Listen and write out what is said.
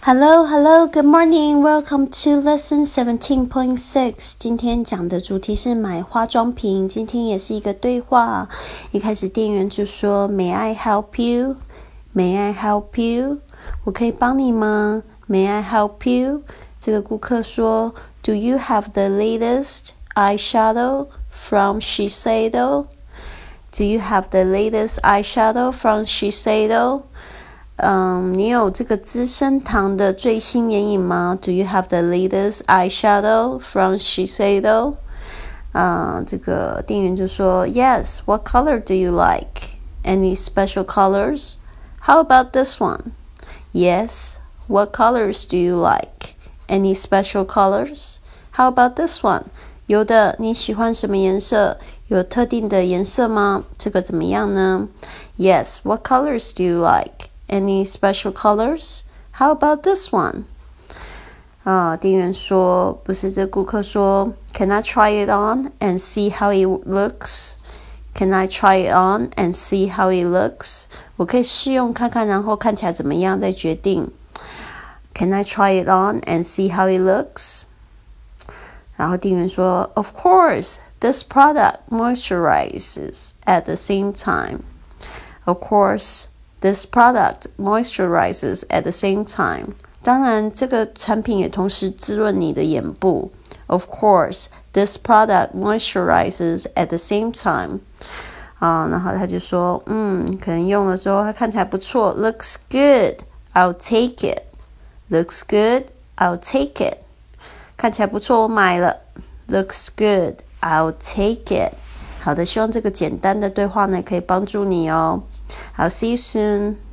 Hello, good morning. Welcome to lesson 17.6. 今天讲的主题是买化妆品。今天也是一个对话。一开始店员就说 May I help you? May I help you? 我可以帮你吗？ May I help you? 这个顾客说 Do you have the latest eyeshadow from Shiseido? Do you have the latest eyeshadow from Shiseido?你有这个资生堂的最新眼影吗？ Do you have the latest eyeshadow from Shiseido? 这个店员就说 Yes, what color do you like? Any special colors? How about this one? Yes, what colors do you like? Any special colors? How about this one? 有的，你喜欢什么颜色？有特定的颜色吗？这个怎么样呢？ Yes, what colors do you like?Any special colors? How about this one? 店员说，不是这顾客说 Can I try it on and see how it looks? Can I try it on and see how it looks? 我可以试用看看，然后看起来怎么样再决定。Can I try it on and see how it looks? 然后店员说 Of course, this product moisturizes at the same time. Of course,This product moisturizes at the same time. 当然，这个产品也同时滋润你的眼部。Of course, this product moisturizes at the same time. 然后他就说，可能用的时候它看起来不错。Looks good, I'll take it. Looks good, I'll take it. 看起来不错，我买了。Looks good, I'll take it. 好的，希望这个简单的对话呢可以帮助你哦。I'll see you soon.